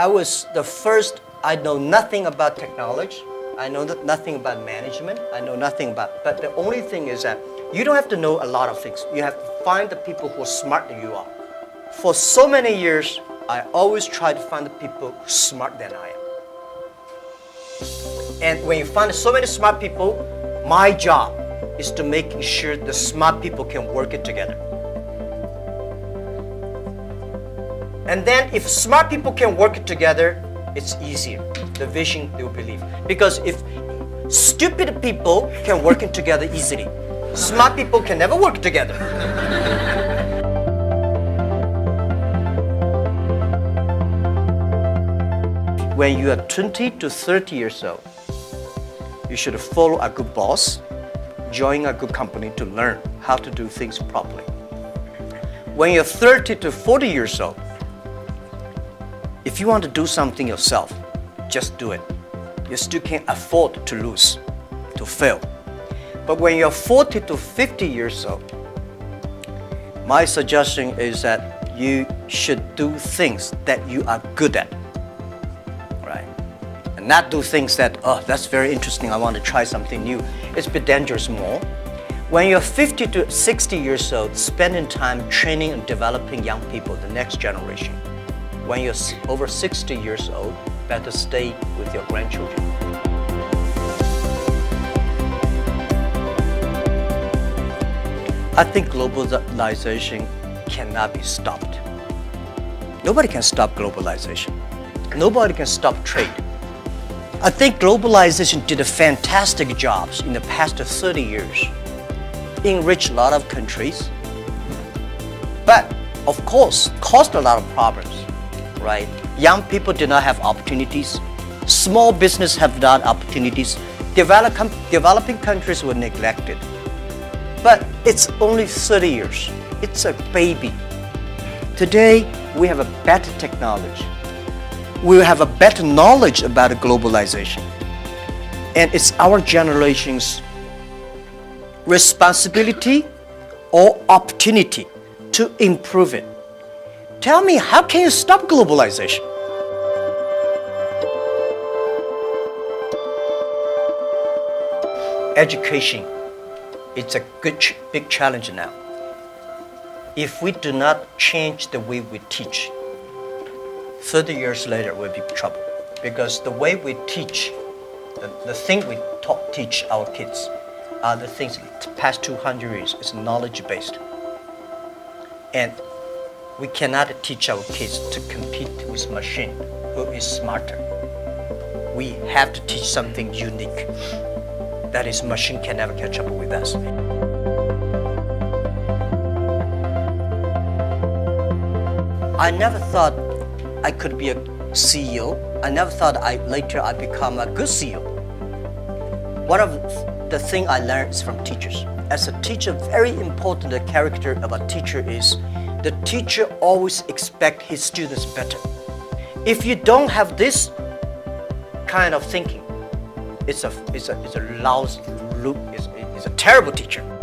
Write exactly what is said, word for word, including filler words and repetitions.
I was the first, I know nothing about technology. I know nothing about management. I know nothing about, but the only thing is that you don't have to know a lot of things. You have to find the people who are smarter than you are. For so many years, I always try to find the people who are smarter than I am. And when you find so many smart people, my job is to make sure the smart people can work it together. And then if smart people can work it together, it's easier. The vision they will believe. Because if stupid people can work it together easily, smart people can never work together. When you are twenty to thirty years old, you should follow a good boss, join a good company to learn how to do things properly. When you're thirty to forty years old, if you want to do something yourself, just do it. You still can't afford to lose, to fail. But when you're forty to fifty years old, my suggestion is that you should do things that you are good at, right? And not do things that, oh, that's very interesting, I want to try something new. It's a bit dangerous more. When you're fifty to sixty years old, spending time training and developing young people, the next generation. When you're over sixty years old, better stay with your grandchildren. I think globalization cannot be stopped. Nobody can stop globalization. Nobody can stop trade. I think globalization did a fantastic job in the past thirty years. Enriched a lot of countries, but of course, caused a lot of problems. Right? Young people did not have opportunities. Small business have not opportunities. Develop, developing countries were neglected. But it's only thirty years. It's a baby. Today, we have a better technology. We have a better knowledge about globalization. And it's our generation's responsibility or opportunity to improve it. Tell me, how can you stop globalization? Education, it's a good, ch big challenge now. If we do not change the way we teach, thirty years later we'll be in trouble. Because the way we teach, the, the thing we taught, teach our kids are the things the past two hundred years is knowledge-based. And we cannot teach our kids to compete with machine who is smarter. We have to teach something unique. That is, machine can never catch up with us. I never thought I could be a C E O. I never thought I later I'd become a good C E O. One of the things I learned is from teachers. As a teacher, very important the character of a teacher is the teacher always expects his students better. If you don't have this kind of thinking, it's a, it's a, it's a lousy, it's, it's a terrible teacher.